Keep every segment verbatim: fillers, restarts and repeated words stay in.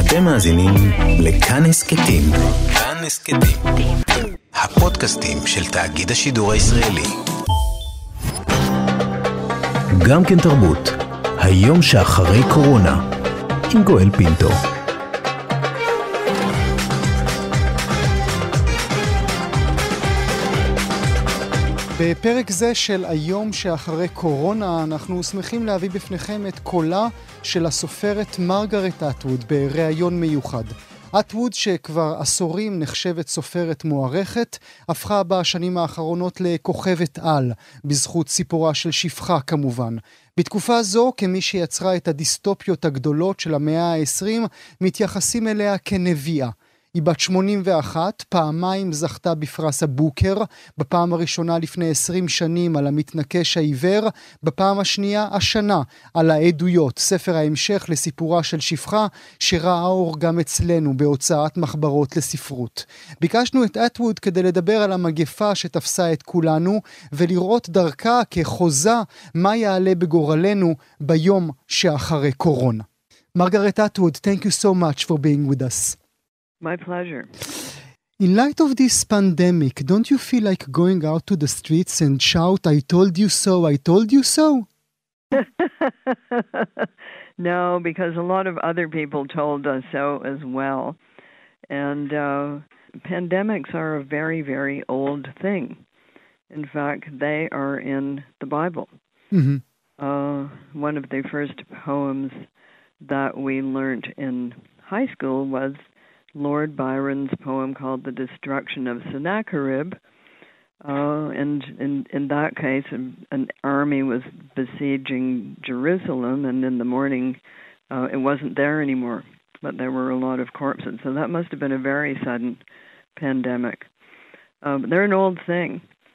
אתם מאזינים לכאן הסכתים. כאן הסכתים. הפודקאסטים של תאגיד השידור הישראלי. גם כן תרבות. היום שאחרי קורונה. עם גואל פינטו. בפרק זה של היום שאחרי קורונה אנחנו שמחים להביא בפניכם את קולה של הסופרת מרגרט אטווד בראיון מיוחד. אטווד, שכבר עשורים נחשבת סופרת מוערכת, הפכה בשנים האחרונות לכוכבת על, בזכות סיפורה של שפחה כמובן. בתקופה זו, כמי שיצרה את הדיסטופיות הגדולות של המאה ה-העשרים, מתייחסים אליה כנביאה. היא בת שמונים ואחת, פעמיים זכתה בפרס הבוקר, בפעם הראשונה לפני עשרים שנים על המתנקש העיוור, בפעם השנייה השנה על העדויות, ספר ההמשך לסיפורה של שפחה, שראה אור גם אצלנו בהוצאת מחברות לספרות. ביקשנו את אטווד כדי לדבר על המגפה שתפסה את כולנו, ולראות דרכה כחוזה מה יעלה בגורלנו ביום שאחרי קורונה. מרגרט אטווד, thank you so much for being with us. My pleasure. In light of this pandemic, don't you feel like going out to the streets and shout, I told you so, I told you so? No, because a lot of other people told us so as well. And uh, pandemics are a very, very old thing. In fact, they are in the Bible. Mm-hmm. Uh, one of the first poems that we learned in high school was Lord Byron's poem called The Destruction of Sennacherib. Uh, and in, in that case, an, an army was besieging Jerusalem, and in the morning uh, it wasn't there anymore, but there were a lot of corpses. So that must have been a very sudden pandemic. Uh, but they're an old thing.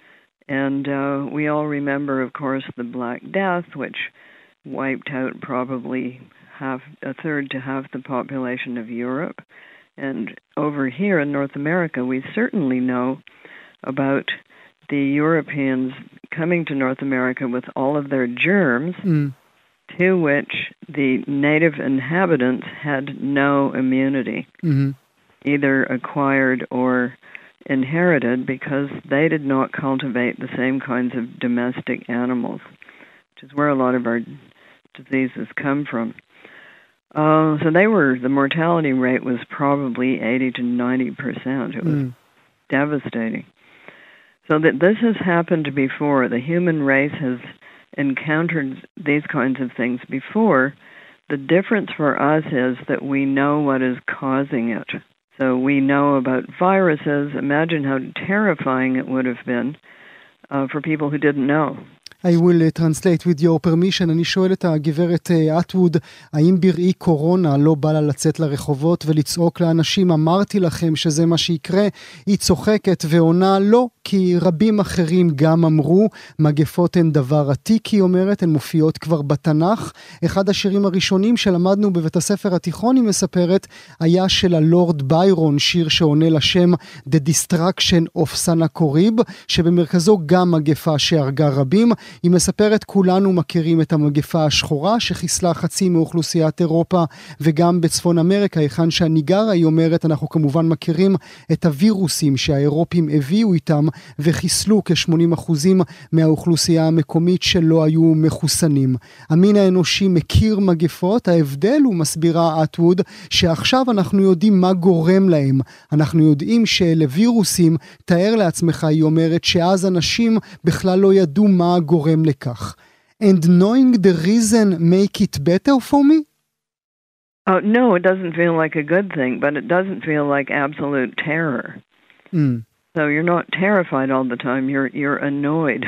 And uh, we all remember, of course, the Black Death, which wiped out probably half, a third to half the population of Europe. And over here in North America, we certainly know about the Europeans coming to North America with all of their germs, Mm. to which the native inhabitants had no immunity, Mm-hmm. either acquired or inherited, because they did not cultivate the same kinds of domestic animals, which is where a lot of our diseases come from. Uh, so they were, the mortality rate was probably eighty to ninety percent. It was Mm. devastating. So that this has happened before. The human race has encountered these kinds of things before. The difference for us is that we know what is causing it. So we know about viruses. Imagine how terrifying it would have been uh, for people who didn't know. I will uh, translate with your permission. אני שואל את הגברת אטווד, האם בראי קורונה לא בא לה לצאת לרחובות ולצעוק לאנשים, אמרתי לכם שזה מה שיקרה? היא צוחקת ועונה לא, כי רבים אחרים גם אמרו, מגפות הן דבר עתיק, היא אומרת, הן מופיעות כבר בתנ"ך. אחד השירים הראשונים שלמדנו בבית הספר התיכון, היא מספרת, היה של הלורד ביירון, שיר שעונה לשם The Destruction of Sennacherib, שבמרכזו גם מגפה שהרגה רבים. היא מספרת, כולנו מכירים את המגפה השחורה שחיסלה חצי מאוכלוסיית אירופה וגם בצפון אמריקה, היכן שאני גרה. היא אומרת, אנחנו כמובן מכירים את הווירוסים שהאירופים הביאו איתם וחיסלו כ-שמונים אחוז מהאוכלוסייה המקומית שלא היו מחוסנים. המין האנושי מכיר מגפות, ההבדל הוא, מסבירה אטווד, שעכשיו אנחנו יודעים מה גורם להם. אנחנו יודעים שלווירוסים, תאר לעצמך, היא אומרת, שאז אנשים בכלל לא ידעו מה גורם לכך. And knowing the reason make it better for me? Oh, no, it doesn't feel like a good thing, but it doesn't feel like absolute terror. Mm. So you're not terrified all the time, you're you're annoyed.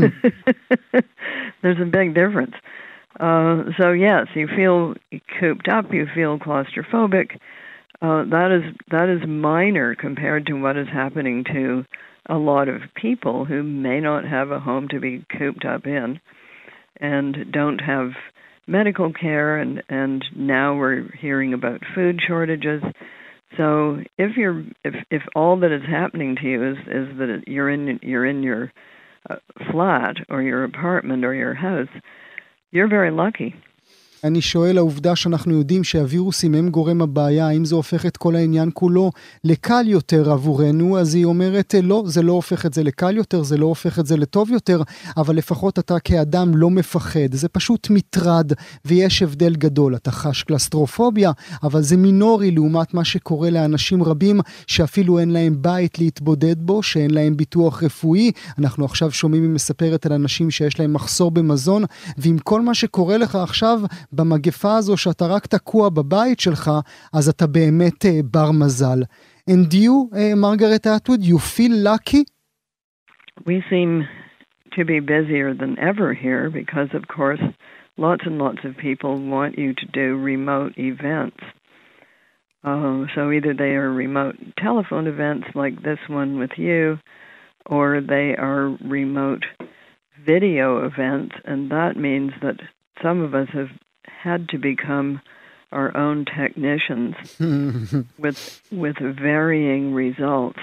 There's a big difference. Uh, so yes, you feel cooped up, you feel claustrophobic. Uh, that is that is minor compared to what is happening to a lot of people who may not have a home to be cooped up in and don't have medical care, and, and now we're hearing about food shortages. So if you're if, if all that is happening to you is, is that you're in you're in your uh, flat or your apartment or your house, you're very lucky. אני שואל, העובדה שאנחנו יודעים שהווירוסים הם גורם הבעיה, האם זה הופך את כל העניין כולו לקל יותר עבורנו? אז היא אומרת, לא, זה לא הופך את זה לקל יותר, זה לא הופך את זה לטוב יותר, אבל לפחות אתה כאדם לא מפחד, זה פשוט מטרד, ויש הבדל גדול, אתה חש קלסטרופוביה, אבל זה מינורי לעומת מה שקורה לאנשים רבים, שאפילו אין להם בית להתבודד בו, שאין להם ביטוח רפואי. אנחנו עכשיו שומעים ומספרת על אנשים שיש להם מחסור במזון, ועם כל מה שקורה לך עכשיו, במגפה הזו שאתה רק תקוע בבית שלך, אז אתה באמת uh, בר מזל. And you, uh, Margaret Atwood, you feel lucky? We seem to be busier than ever here because, of course, lots and lots of people want you to do remote events. Uh, so either they are remote telephone events like this one with you, or they are remote video events, and that means that some of us have had to become our own technicians with with varying results.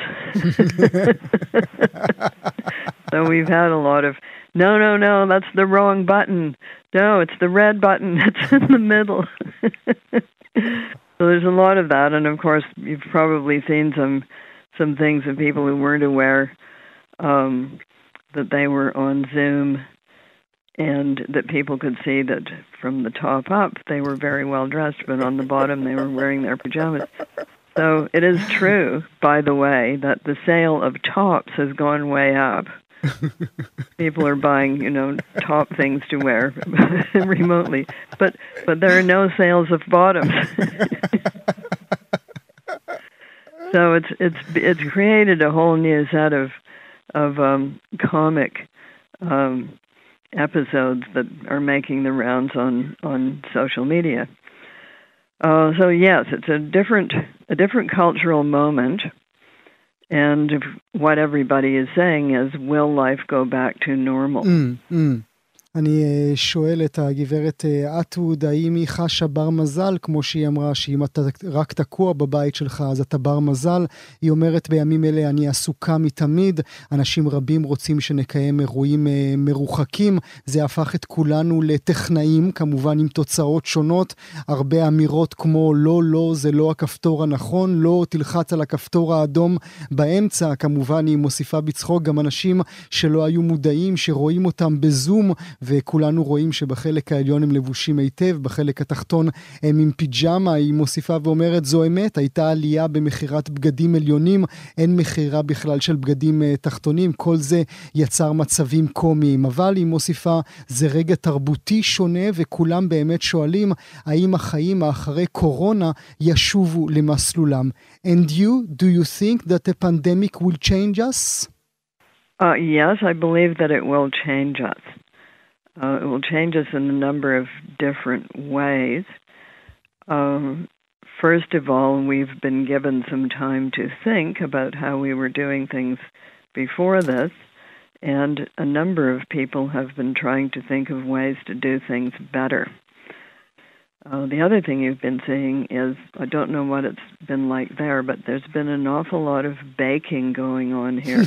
So we've had a lot of, no, no, no, that's the wrong button. No, it's the red button. It's in the middle. So there's a lot of that, and of course you've probably seen some some things of people who weren't aware um, that they were on Zoom, and that people could see that from the top up they were very well dressed, but on the bottom they were wearing their pajamas. So it is true, by the way, that the sale of tops has gone way up. People are buying, you know, top things to wear remotely, but but there are no sales of bottoms. So it's it's it's created a whole new set of of um, comic um, episodes that are making the rounds on on social media. Uh, so yes, it's a different a different cultural moment. And what everybody is saying is, will life go back to normal? Mm, mm. אני שואל את הגברת אטווד, האם היא חשה בר מזל, כמו שהיא אמרה, שאם אתה רק תקוע בבית שלך, אז אתה בר מזל. היא אומרת, בימים אלה אני עסוקה מתמיד, אנשים רבים רוצים שנקיים אירועים מרוחקים, זה הפך את כולנו לטכנאים, כמובן עם תוצאות שונות, הרבה אמירות כמו, לא, לא, זה לא הכפתור הנכון, לא, תלחץ על הכפתור האדום באמצע, כמובן היא מוסיפה בצחוק גם אנשים שלא היו מודעים, שרואים אותם בזום, וכולנו רואים שבחלק העליון הם לבושים היטב, בחלק התחתון הם עם פיג'מה. היא מוסיפה ואומרת, זו אמת, הייתה עלייה במחירת בגדים עליונים, אין מחירה בכלל של בגדים תחתונים, כל זה יצר מצבים קומיים, אבל היא מוסיפה, זה רגע תרבותי שונה, וכולם באמת שואלים, האם החיים האחרי קורונה ישובו למסלולם. And you, do you think that the pandemic will change us? Uh, yes, I believe that it will change us. Uh, it will change us in a number of different ways. Um, first of all, we've been given some time to think about how we were doing things before this, and a number of people have been trying to think of ways to do things better. Uh, the other thing you've been seeing is, I don't know what it's been like there, but there's been an awful lot of baking going on here.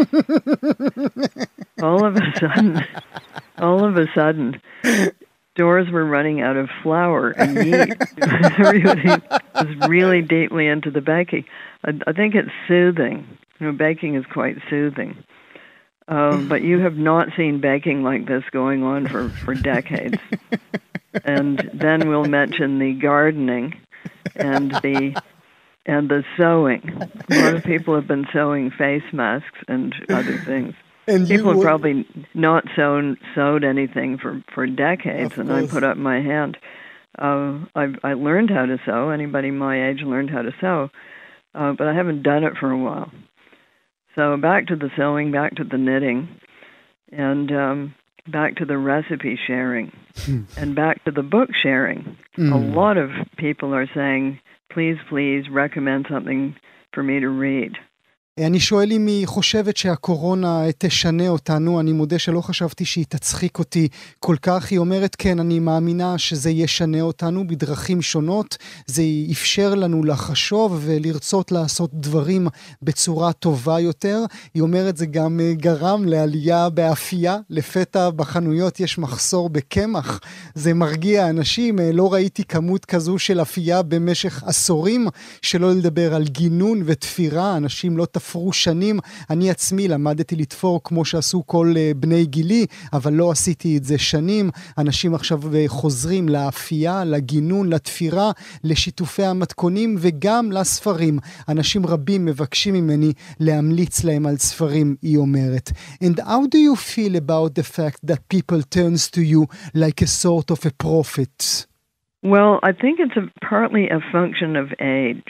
all of a sudden, all of a sudden, stores were running out of flour and yeast. Everybody was really deeply into the baking. I, I think it's soothing. You know, baking is quite soothing. Um, but you have not seen baking like this going on for, for decades. And then we'll mention the gardening and the and the sewing. A lot of people have been sewing face masks and other things. And people have would... probably not sewn sewed anything for, for decades, and I put up my hand. Uh, I I learned how to sew. Anybody my age learned how to sew, uh, but I haven't done it for a while. So back to the sewing, back to the knitting, and um, back to the recipe sharing, and back to the book sharing. Mm. A lot of people are saying, please, please recommend something for me to read. אני שואל אם היא חושבת שהקורונה תשנה אותנו, אני מודה שלא חשבתי שהיא תצחיק אותי כל כך, היא אומרת כן, אני מאמינה שזה ישנה אותנו בדרכים שונות, זה יאפשר לנו לחשוב ולרצות לעשות דברים בצורה טובה יותר, היא אומרת זה גם גרם לעלייה באפייה, לפתע בחנויות יש מחסור בקמח, זה מרגיע אנשים, לא ראיתי כמות כזו של אפייה במשך עשורים, שלא לדבר על גינון ותפירה, אנשים לא תפרו שנים, אני עצמי למדתי לתפור כמו שעשו כל בני גילי, אבל לא עשיתי את זה שנים, אנשים עכשיו חוזרים לאפייה, לגינון, לתפירה, לשיתופי המתכונים וגם לספרים. אנשים רבים מבקשים ממני להמליץ להם על ספרים, היא אומרת. And how do you feel about the fact that people turns to you like a sort of a prophet? Well, I think it's a, partly a function of age.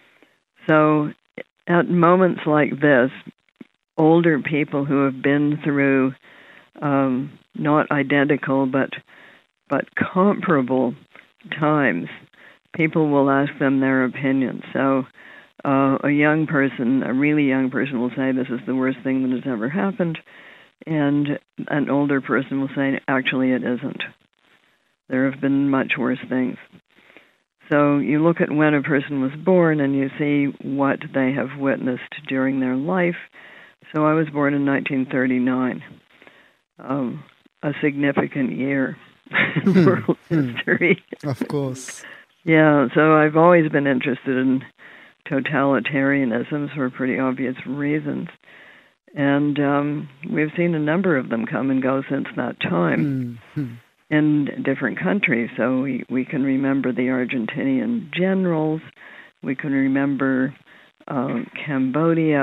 So at moments like this, older people who have been through um, not identical but but comparable times, people will ask them their opinion. So uh, a young person, a really young person will say this is the worst thing that has ever happened, and an older person will say actually it isn't. There have been much worse things. So you look at when a person was born and you see what they have witnessed during their life. So I was born in nineteen thirty-nine, um, a significant year in world history. Of course. Yeah, so I've always been interested in totalitarianisms for pretty obvious reasons. And um, we've seen a number of them come and go since that time. Mm-hmm. In different countries. So we, we can remember the Argentinian generals, we can remember uh, Cambodia,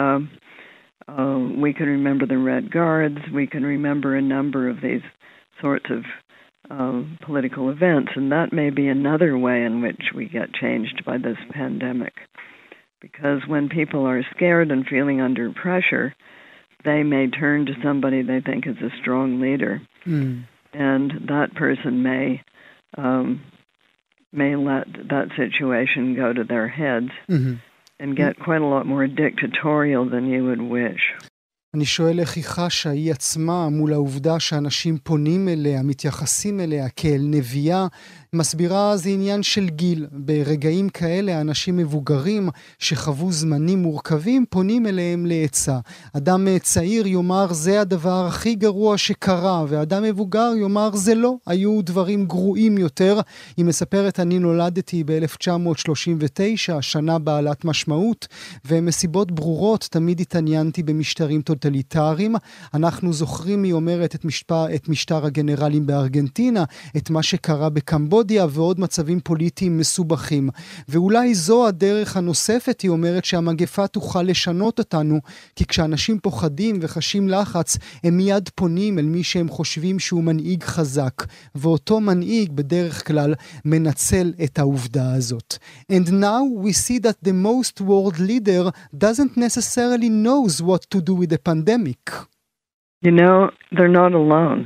uh, we can remember the Red Guards, we can remember a number of these sorts of uh, political events, and that may be another way in which we get changed by this pandemic. Because when people are scared and feeling under pressure, they may turn to somebody they think is a strong leader. Mm. And that person may um, may let that situation go to their heads mm-hmm. and get quite a lot more dictatorial than you would wish. אני שואל איך היא חשה, היא עצמה, מול העובדה שאנשים פונים אליה, מתייחסים אליה כאל נביאה, מסבירה זה עניין של גיל. ברגעים כאלה, אנשים מבוגרים שחוו זמנים מורכבים, פונים אליהם לעצה. אדם צעיר יאמר, זה הדבר הכי גרוע שקרה, ואדם מבוגר יאמר, זה לא. היו דברים גרועים יותר. היא מספרת, אני נולדתי ב-אלף תשע מאות שלושים ותשע, שנה בעלת משמעות, ומסיבות ברורות תמיד התעניינתי במשטרים טוטליטריים. אנחנו זוכרים, היא אומרת, את משטר, את משטר הגנרלים בארגנטינה, את מה שקרה בקמבודיה, ועוד מצבים פוליטיים מסובכים. ואולי זו הדרך הנוספת, היא אומרת, שהמגפה תוכל לשנות אותנו, כי כשאנשים פוחדים וחשים לחץ, הם מיד פונים אל מי שהם חושבים שהוא מנהיג חזק, ואותו מנהיג בדרך כלל מנצל את העובדה הזאת. And now we see that the most world leader doesn't necessarily knows what to do with the pandemic. You know, they're not alone.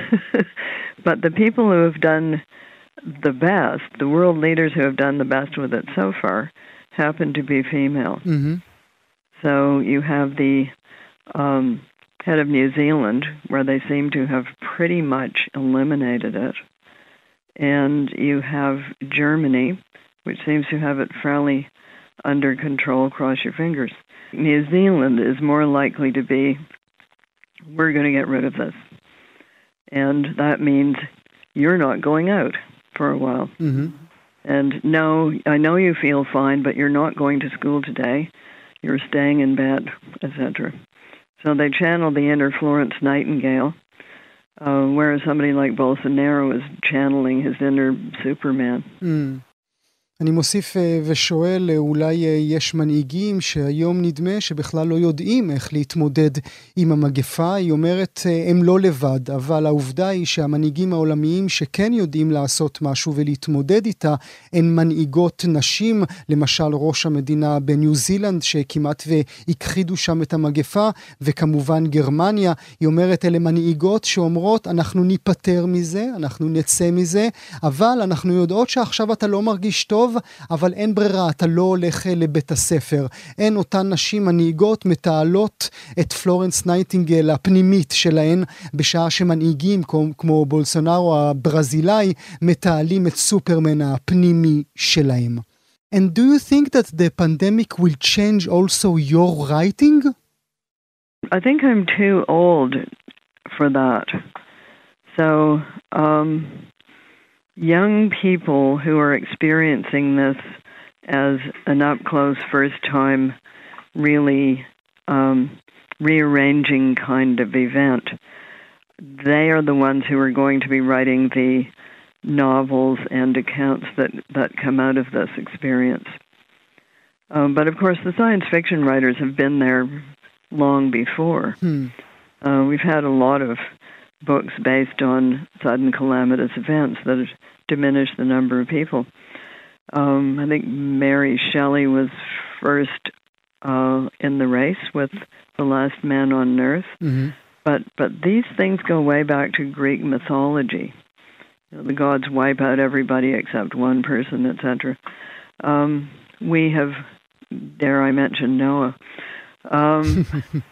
But the people who have done the best, the world leaders who have done the best with it so far, happen to be female. Mm-hmm. So you have the um, head of New Zealand, where they seem to have pretty much eliminated it. And you have Germany, which seems to have it fairly under control, cross your fingers. New Zealand is more likely to be, we're going to get rid of this. And that means you're not going out for a while. Mm-hmm. And no, I know you feel fine, but you're not going to school today. You're staying in bed, et cetera. So they channel the inner Florence Nightingale, uh, whereas somebody like Bolsonaro is channeling his inner Superman. Mm. אני מוסיף ושואל, אולי יש מנהיגים שהיום נדמה שבכלל לא יודעים איך להתמודד עם המגפה. היא אומרת, הם לא לבד, אבל העובדה היא שהמנהיגים העולמיים שכן יודעים לעשות משהו ולהתמודד איתה, הן מנהיגות נשים, למשל ראש המדינה בניו זילנד, שכמעט והכחידו שם את המגפה, וכמובן גרמניה. היא אומרת, אלה מנהיגות שאומרות, אנחנו ניפטר מזה, אנחנו נצא מזה, אבל אנחנו יודעות שעכשיו אתה לא מרגיש טוב, טוב, אבל אין ברירה, אתה לא הולך לבית הספר. אין אותן נשים מנהיגות מתעלות את פלורנס נייטינגל הפנימית שלהן, בשעה שמנהיגים כמו, כמו בולסונארו הברזילאי, מתעלים את סופרמן הפנימי שלהם. And do you think that the pandemic will change also your writing? I think I'm too old for that. So, um, young people who are experiencing this as an up-close first-time, really um, rearranging kind of event, they are the ones who are going to be writing the novels and accounts that, that come out of this experience. Um, but of course, the science fiction writers have been there long before. Hmm. Uh, we've had a lot of books based on sudden calamitous events that have diminished the number of people. Um, I think Mary Shelley was first uh, in the race with The Last Man on Earth. Mm-hmm. But but these things go way back to Greek mythology. You know, the gods wipe out everybody except one person, et cetera. Um, we have, dare I mention Noah. Um,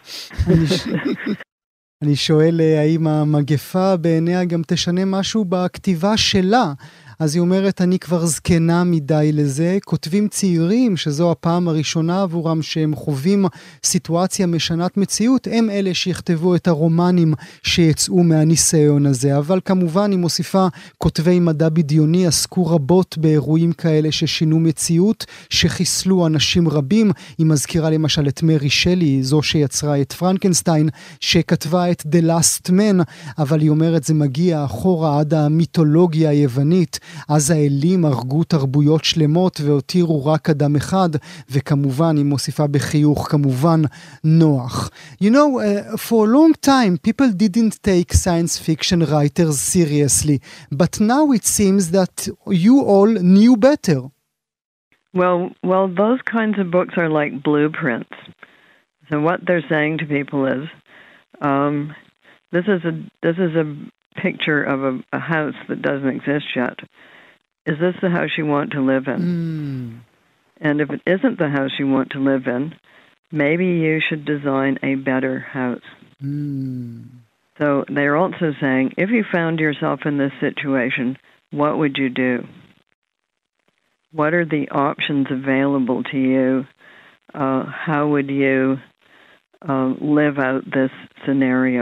אני שואל האם המגפה בעיניה גם תשנה משהו בכתיבה שלה. אז היא אומרת, אני כבר זקנה מדי לזה. כותבים צעירים, שזו הפעם הראשונה עבורם שהם חווים סיטואציה משנת מציאות, הם אלה שיכתבו את הרומנים שיצאו מהניסיון הזה. אבל כמובן היא מוסיפה, כותבי מדע בדיוני עסקו רבות באירועים כאלה ששינו מציאות, שחיסלו אנשים רבים. היא מזכירה למשל את מרי שלי, זו שיצרה את פרנקנסטיין, שכתבה את The Last Man, אבל היא אומרת, זה מגיע אחורה עד המיתולוגיה היוונית, אז האלים הרגו תרבויות שלמות והותירו רק אדם אחד, וכמובן היא מוסיפה בחיוך, כמובן נוח. You know, uh, for a long time people didn't take science fiction writers seriously, but now it seems that you all knew better. Well, well, those kinds of books are like blueprints. So what they're saying to people is, um, this is a this is a picture of a, a house that doesn't exist yet. Is this the house you want to live in? Mm. And if it isn't the house you want to live in, maybe you should design a better house. Mm. So they're also saying, if you found yourself in this situation, what would you do? What are the options available to you? Uh, how would you uh, live out this scenario?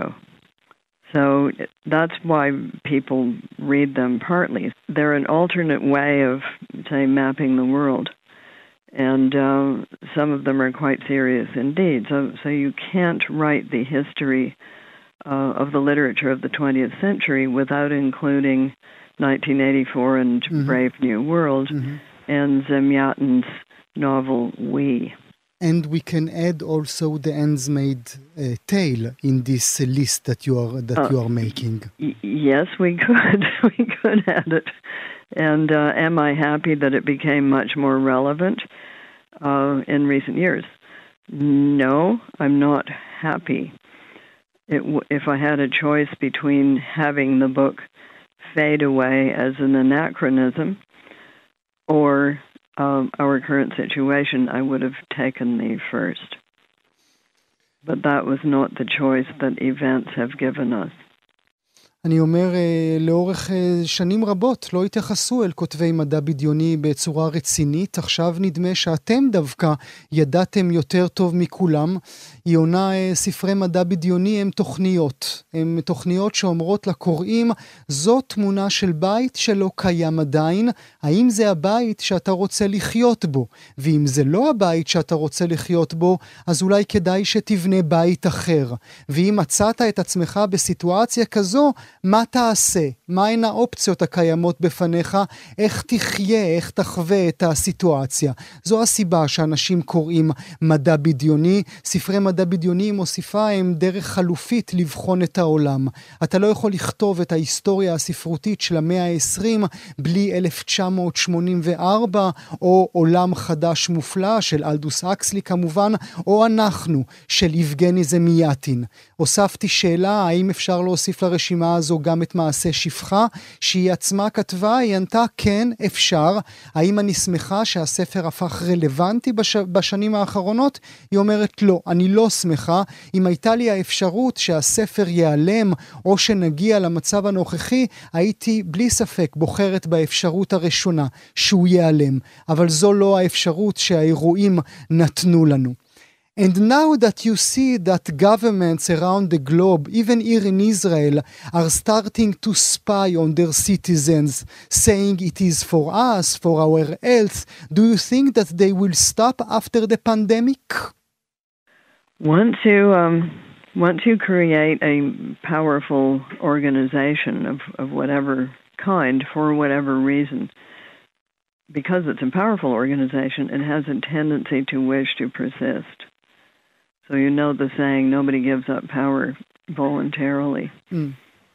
So that's why people read them partly. They're an alternate way of, say, mapping the world. And uh, some of them are quite serious indeed. So, so you can't write the history uh, of the literature of the twentieth century without including nineteen eighty-four and mm-hmm. Brave New World mm-hmm. and Zemyatin's novel We. And we can add also the Handmaid's uh, Tale in this uh, list that you are that uh, you are making. Y- yes, we could. we could add it. And uh, am I happy that it became much more relevant uh, in recent years? No, I'm not happy. It w- if I had a choice between having the book fade away as an anachronism or Um, our current situation, I would have taken the first. But that was not the choice that events have given us. אני אומר, לאורך שנים רבות לא התייחסו אל כותבי מדע בדיוני בצורה רצינית. עכשיו נדמה שאתם דווקא ידעתם יותר טוב מכולם. היא עונה, ספרי מדע בדיוני הם תוכניות. הם תוכניות שאומרות לקוראים, זו תמונה של בית שלא קיים עדיין. האם זה הבית שאתה רוצה לחיות בו? ואם זה לא הבית שאתה רוצה לחיות בו, אז אולי כדאי שתבנה בית אחר. ואם מצאת את עצמך בסיטואציה כזו, מה תעשה? מהן האופציות הקיימות בפניך? איך תחיה, איך תחווה את הסיטואציה? זו הסיבה שאנשים קוראים מדע בדיוני. ספרי מדע בדיוני מוסיפה הם דרך חלופית לבחון את העולם. אתה לא יכול לכתוב את ההיסטוריה הספרותית של המאה ה-עשרים בלי אלף תשע מאות שמונים וארבע, או עולם חדש מופלא של אלדוס אקסלי כמובן, או אנחנו של יבגני זמיאטין. הוספתי שאלה, האם אפשר להוסיף לרשימה הזו הזו גם את מעשה שפחה, שהיא עצמה כתבה, היא ענתה כן, אפשר. האם אני שמחה שהספר הפך רלוונטי בש... בשנים האחרונות? היא אומרת לא, אני לא שמחה. אם הייתה לי האפשרות שהספר ייעלם, או שנגיע למצב הנוכחי, הייתי בלי ספק בוחרת באפשרות הראשונה, שהוא ייעלם. אבל זו לא האפשרות שהאירועים נתנו לנו. And now that you see that governments around the globe, even here in Israel, are starting to spy on their citizens, saying it is for us, for our health, do you think that they will stop after the pandemic? Once you, um, once you create a powerful organization of, of whatever kind, for whatever reason, because it's a powerful organization, it has a tendency to wish to persist. So you know the saying, nobody gives up power voluntarily. Mm.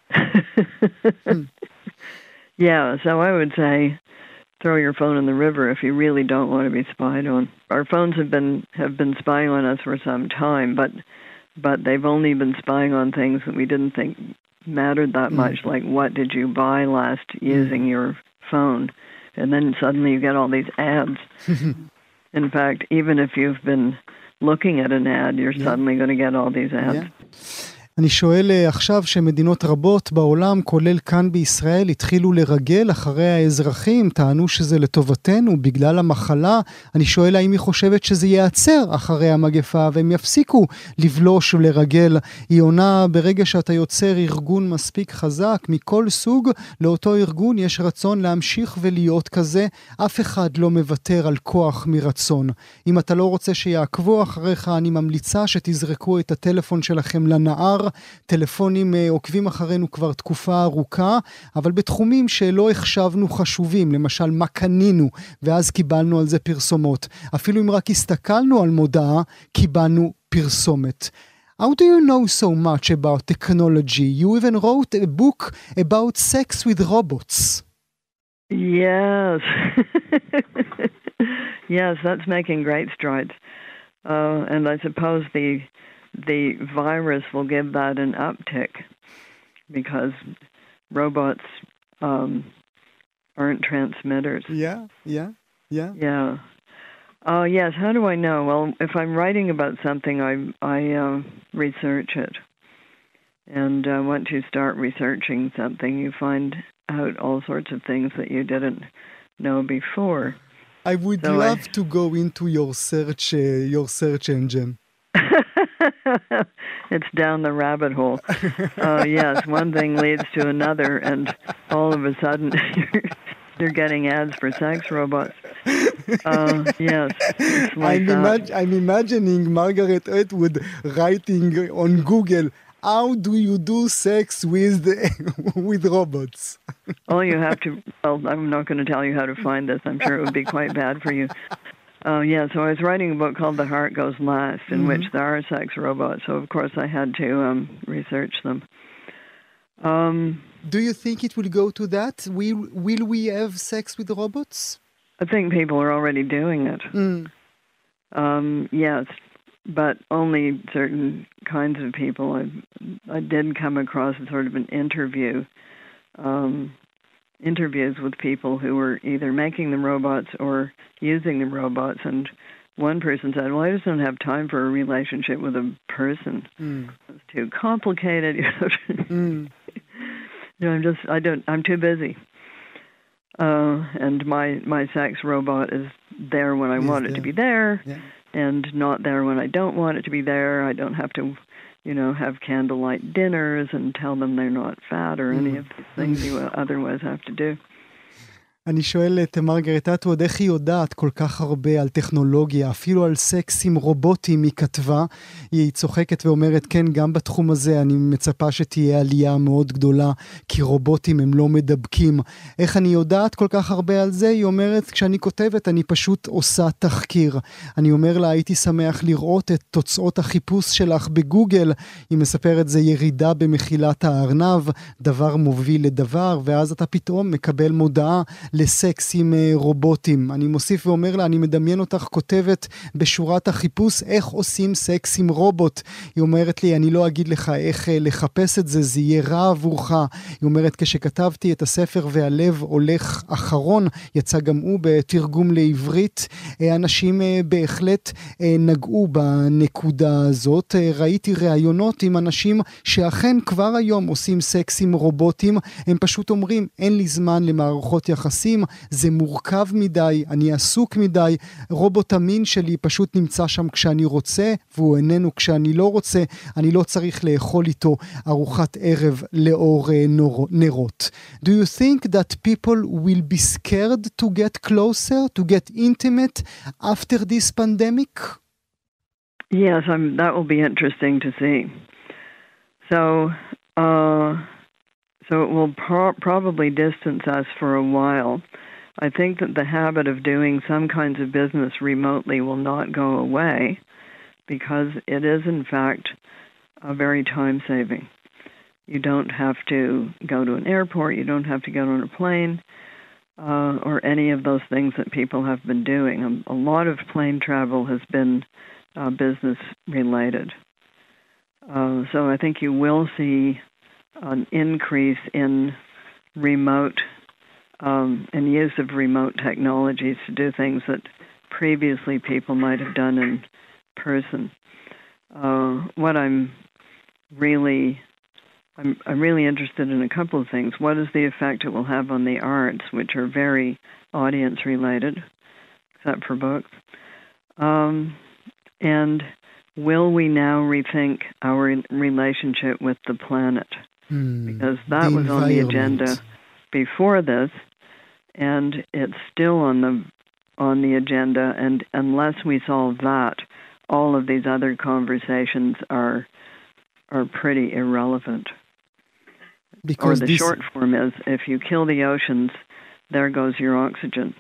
mm. Yeah, so I would say throw your phone in the river if you really don't want to be spied on. Our phones have been have been spying on us for some time, but but they've only been spying on things that we didn't think mattered that mm. much, like what did you buy last using your phone? And then suddenly you get all these ads. In fact, even if you've been looking at an ad, you're yeah. suddenly going to get all these ads. Yeah. אני שואל עכשיו שמדינות רבות בעולם, כולל כאן בישראל, התחילו לרגל אחרי האזרחים, טענו שזה לטובתנו בגלל המחלה. אני שואל האם היא חושבת שזה ייעצר אחרי המגפה, והם יפסיקו לבלוש ולרגל. היא עונה, ברגע שאתה יוצר ארגון מספיק חזק מכל סוג, לאותו ארגון יש רצון להמשיך ולהיות כזה. אף אחד לא מוותר על כוח מרצון. אם אתה לא רוצה שיעקבו אחריך, אני ממליצה שתזרקו את הטלפון שלכם לנהר. טלפונים עוקבים אחרינו כבר תקופה ארוכה, אבל בתחומים שלא החשבנו חשובים, למשל מה קנינו, ואז קיבלנו על זה פרסומות. אפילו אם רק הסתכלנו על מודעה, קיבלנו פרסומת. How do you know so much about technology? You even wrote a book about sex with robots. Yes. Yes, that's making great strides. Uh, and I suppose the the virus will give that an uptick because robots um, aren't transmitters. Yeah, yeah, yeah. Yeah. Oh, uh, yes. How do I know? Well, if I'm writing about something, I I uh, research it. And uh, once you start researching something, you find out all sorts of things that you didn't know before. I would so love I... to go into your search, uh, your search engine. It's down the rabbit hole. Uh, yes, one thing leads to another, and all of a sudden you're, you're getting ads for sex robots. Uh, yes, it's like I'm, that. imag- I'm imagining Margaret Atwood writing on Google, how do you do sex with the, with robots? All you have to, well, I'm not going to tell you how to find this. I'm sure it would be quite bad for you. Oh, uh, yeah, so I was writing a book called The Heart Goes Last, in mm-hmm. which there are sex robots, so of course I had to um, research them. Um, Do you think it will go to that? Will, will we have sex with robots? I think people are already doing it. Mm. Um, yes, but only certain kinds of people. I, I did come across a sort of an interview um interviews with people who were either making the robots or using the robots, and one person said, well, I just don't have time for a relationship with a person. Mm. It's too complicated. You know, mm. you know, I'm just, I don't, I'm too busy. Uh, and my, my sex robot is there when I is want there. it to be there, yeah. and not there when I don't want it to be there. I don't have to, you know, have candlelight dinners and tell them they're not fat or any of these things you otherwise have to do. אני שואל את מרגרט אטווד, איך היא יודעת כל כך הרבה על טכנולוגיה, אפילו על סקס עם רובוטים היא כתבה, היא צוחקת ואומרת, כן, גם בתחום הזה אני מצפה שתהיה עלייה מאוד גדולה, כי רובוטים הם לא מדבקים. איך אני יודעת כל כך הרבה על זה? היא אומרת, כשאני כותבת, אני פשוט עושה תחקיר. אני אומר לה, הייתי שמח לראות את תוצאות החיפוש שלך בגוגל. היא מספרת, זה ירידה במחילת הארנב, דבר מוביל לדבר, ואז אתה פתאום מקבל מודעה לסקס עם רובוטים. אני מוסיף ואומר לה, אני מדמיין אותך כותבת בשורת החיפוש, איך עושים סקס עם רובוט. היא אומרת לי, אני לא אגיד לך איך לחפש את זה, זה יהיה רע עבורך. היא אומרת, כשכתבתי את הספר והלב הולך אחרון, יצא גם הוא בתרגום לעברית, אנשים בהחלט נגעו בנקודה הזאת. ראיתי ראיונות עם אנשים שאכן כבר היום עושים סקס עם רובוטים, הם פשוט אומרים, אין לי זמן למערכות יחסים, זה מורכב מדי, אני עסוק מדי, רובוט המין שלי פשוט נמצא שם כשאני רוצה, והוא איננו כשאני לא רוצה, אני לא צריך לאכול איתו ארוחת ערב לאור נרות. Do you think that people will be scared to get closer, to get intimate after this pandemic? Yes, I'm, that will be interesting to see. So, uh, so it will pro- probably distance us for a while. I think that the habit of doing some kinds of business remotely will not go away because it is, in fact, uh, very time-saving. You don't have to go to an airport, you don't have to get on a plane, uh, or any of those things that people have been doing. A, a lot of plane travel has been uh, business-related. Uh, so I think you will see an increase in remote um, and use of remote technologies to do things that previously people might have done in person. Uh, what I'm really, I'm, I'm really interested in a couple of things. What is the effect it will have on the arts, which are very audience-related, except for books? Um, and will we now rethink our relationship with the planet? Hmm, because that the was on the environment. agenda before this, and it's still on the on the agenda. And unless we solve that, all of these other conversations are are pretty irrelevant. Because or the this... short form is, if you kill the oceans, there goes your oxygen.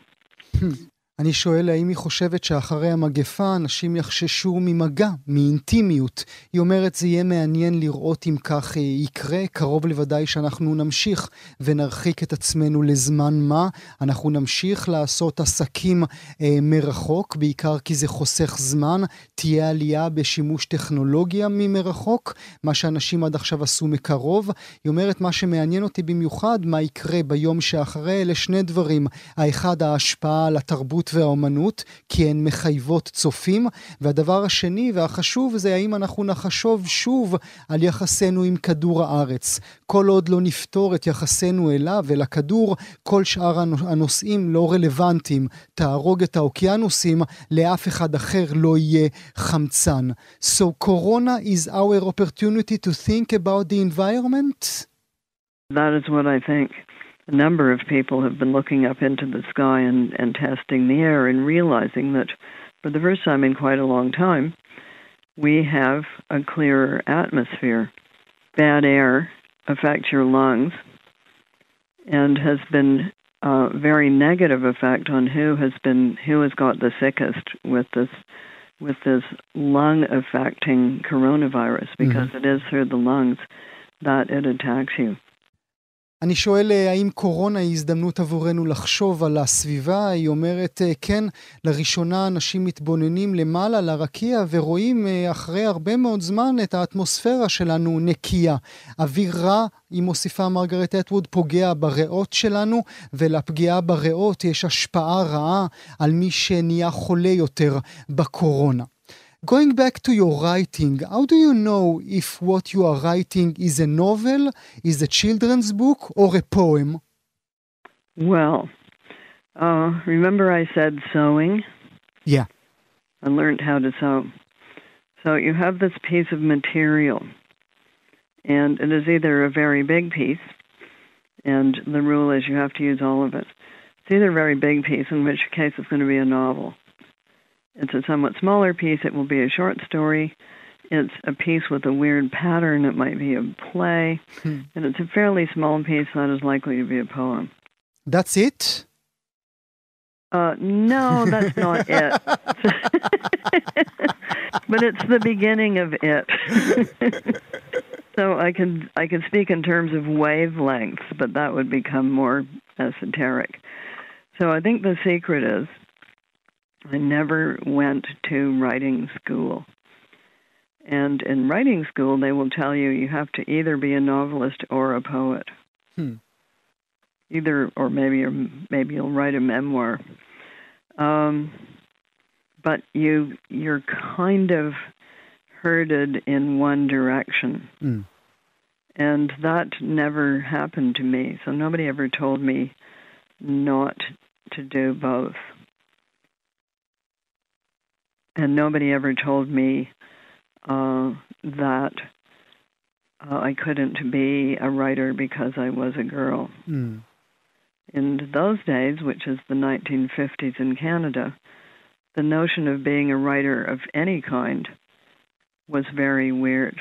אני שואל האם היא חושבת שאחרי המגפה אנשים יחששו ממגע, מאינטימיות. היא אומרת זה יהיה מעניין לראות אם כך יקרה, קרוב לוודאי שאנחנו נמשיך ונרחיק את עצמנו לזמן מה. אנחנו נמשיך לעשות עסקים אה, מרחוק, בעיקר כי זה חוסך זמן, תהיה עלייה בשימוש טכנולוגיה ממרחוק, מה שאנשים עד עכשיו עשו מקרוב. היא אומרת מה שמעניין אותי במיוחד, מה יקרה ביום שאחרי, אלה שני דברים. האחד, ההשפעה על התרבות והאומנות, כי הן מחייבות צופים, והדבר השני והחשוב זה האם אנחנו נחשוב שוב על יחסנו עם כדור הארץ. כל עוד לא נפתור את יחסנו אליו ולכדור, כל שאר הנושאים לא רלוונטיים. תהרוג את האוקיינוסים, לאף אחד אחר לא יהיה חמצן. So Corona is our opportunity to think about the environment? That is what I think. A number of people have been looking up into the sky and, and testing the air and realizing that for the first time in quite a long time, we have a clearer atmosphere. Bad air affects your lungs and has been a very negative effect on who has been who has got the sickest with this with this lung affecting coronavirus, because mm-hmm. it is through the lungs that it attacks you. אני שואל האם קורונה היא הזדמנות עבורנו לחשוב על הסביבה. היא אומרת כן, לראשונה אנשים מתבוננים למעלה לרקיע ורואים אחרי הרבה מאוד זמן את האטמוספירה שלנו נקייה. אוויר רע, היא מוסיפה מרגרט אטווד, פוגע בריאות שלנו, ולפגיעה בריאות יש השפעה רעה על מי שנהיה חולה יותר בקורונה. Going back to your writing, how do you know if what you are writing is a novel, is a children's book, or a poem? Well, uh, remember I said sewing? Yeah. I learned how to sew. So you have this piece of material, and it is either a very big piece, and the rule is you have to use all of it. It's either a very big piece, in which case it's going to be a novel. It's a somewhat smaller piece, it will be a short story. It's a piece with a weird pattern, it might be a play. Hmm. And it's a fairly small piece that is likely to be a poem. That's it? Uh, no, that's not it. But it's the beginning of it. So I can I can speak in terms of wavelengths, but that would become more esoteric. So I think the secret is I never went to writing school. And in writing school, they will tell you you have to either be a novelist or a poet. Hmm. Either, or maybe maybe you'll write a memoir. Um, but you you're kind of herded in one direction. Hmm. And that never happened to me. So nobody ever told me not to do both. And nobody ever told me uh, that uh, I couldn't be a writer because I was a girl. Mm. In those days, which is the nineteen fifties in Canada, the notion of being a writer of any kind was very weird.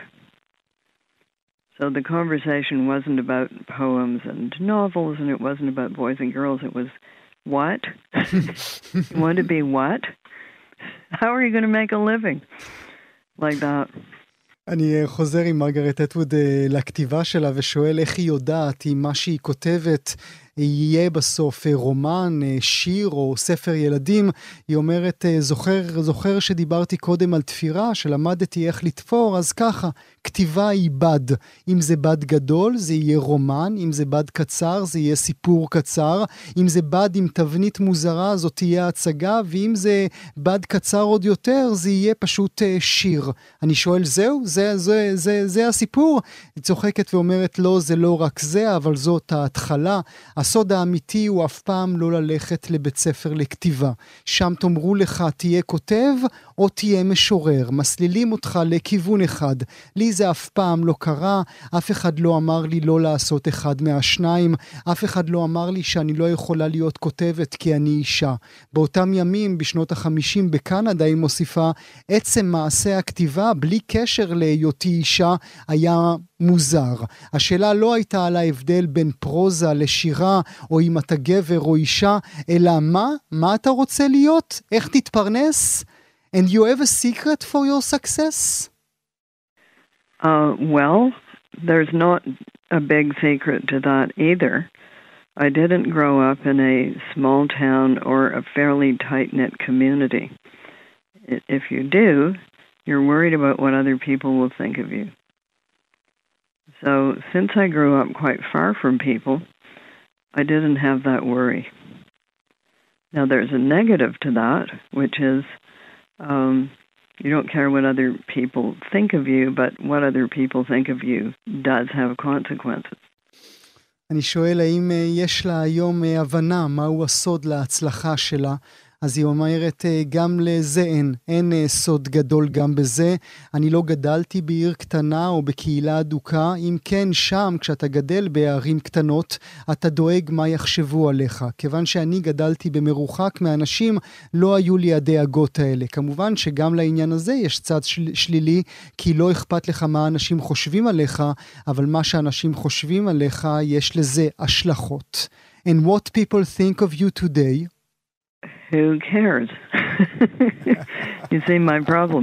So the conversation wasn't about poems and novels, and it wasn't about boys and girls. It was, what? You want to be what? How are you going to make a living? Like that. אני חוזר עם מרגרט אטווד לכתיבה שלה ושואל איך היא יודעת אם מה שהיא כותבת יהיה בסוף רומן, שיר או ספר ילדים. היא אומרת, זוכר, זוכר שדיברתי קודם על תפירה, שלמדתי איך לתפור, אז ככה, כתיבה היא בד. אם זה בד גדול, זה יהיה רומן, אם זה בד קצר, זה יהיה סיפור קצר, אם זה בד עם תבנית מוזרה, זאת תהיה הצגה, ואם זה בד קצר עוד יותר, זה יהיה פשוט שיר. אני שואל, זהו? זה, זה, זה, זה הסיפור? היא צוחקת ואומרת, לא, זה לא רק זה, אבל זאת ההתחלה. הסוד האמיתי הוא אף פעם לא ללכת לבית ספר לכתיבה. שם תאמרו לך, תהיה כותב או תהיה משורר. מסלילים אותך לכיוון אחד. לי זה אף פעם לא קרה. אף אחד לא אמר לי לא לעשות אחד מהשניים. אף אחד לא אמר לי שאני לא יכולה להיות כותבת כי אני אישה. באותם ימים, בשנות החמישים בקנדה, היא מוסיפה, עצם מעשה הכתיבה, בלי קשר להיותי אישה, היה מוזר. השאלה לא הייתה על ההבדל בין פרוזה לשירה, או אם אתה גבר או אישה, אלא מה? מה אתה רוצה להיות? איך תתפרנס? And you have a secret for your success? Uh, well, there's not a big secret to that either. I didn't grow up in a small town or a fairly tight-knit community. If you do, you're worried about what other people will think of you. So, since I grew up quite far from people, I didn't have that worry. Now, there's a negative to that, which is um, you don't care what other people think of you, but what other people think of you does have consequences. אני שואל, האם יש לה היום הבנה מהו הסוד להצלחה שלה? אז היא אומרת, גם לזה אין, אין סוד גדול גם בזה. אני לא גדלתי בעיר קטנה או בקהילה אדוקה, אם כן שם, כשאתה גדל בערים קטנות, אתה דואג מה יחשבו עליך. כיוון שאני גדלתי במרוחק מאנשים, לא היו לי הדאגות האלה. כמובן שגם לעניין הזה יש צד של, שלילי, כי לא אכפת לך מה אנשים חושבים עליך, אבל מה שאנשים חושבים עליך, יש לזה השלכות. And what people think of you today? Who cares? You see my problem.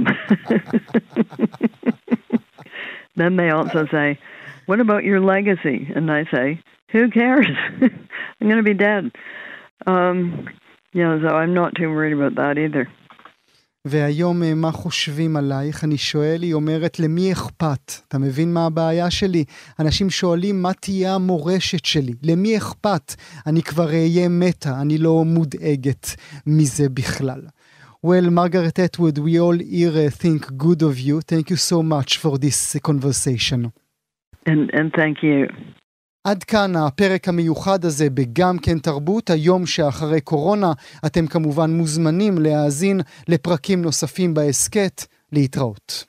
Then they also say, what about your legacy? And I say, who cares? I'm going to be dead. Um, you know, so I'm not too worried about that either. והיום מה חושבים עלייך? אני שואל, היא אומרת, למי אכפת? אתה מבין מה הבעיה שלי? אנשים שואלים, מה תהיה המורשת שלי? למי אכפת? אני כבר אהיה מתה, אני לא מודאגת מזה בכלל. Well, Margaret Atwood, we all here uh, think good of you. Thank you so much for this uh, conversation. And, and thank you. עד כאן הפרק המיוחד הזה בגם כן תרבות, היום שאחרי קורונה. אתם כמובן מוזמנים להאזין לפרקים נוספים בעסקת. להתראות.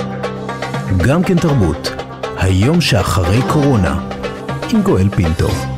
גם כן תרבות, היום שאחרי קורונה, עם גואל פינטו.